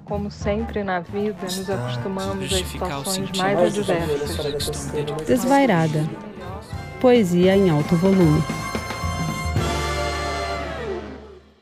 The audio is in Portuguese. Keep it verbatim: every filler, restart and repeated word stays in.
como sempre na vida, nos acostumamos às Justificar o situações sentido mais de viver adversas. essa questão de dedicação. Desvairada. Poesia em alto volume.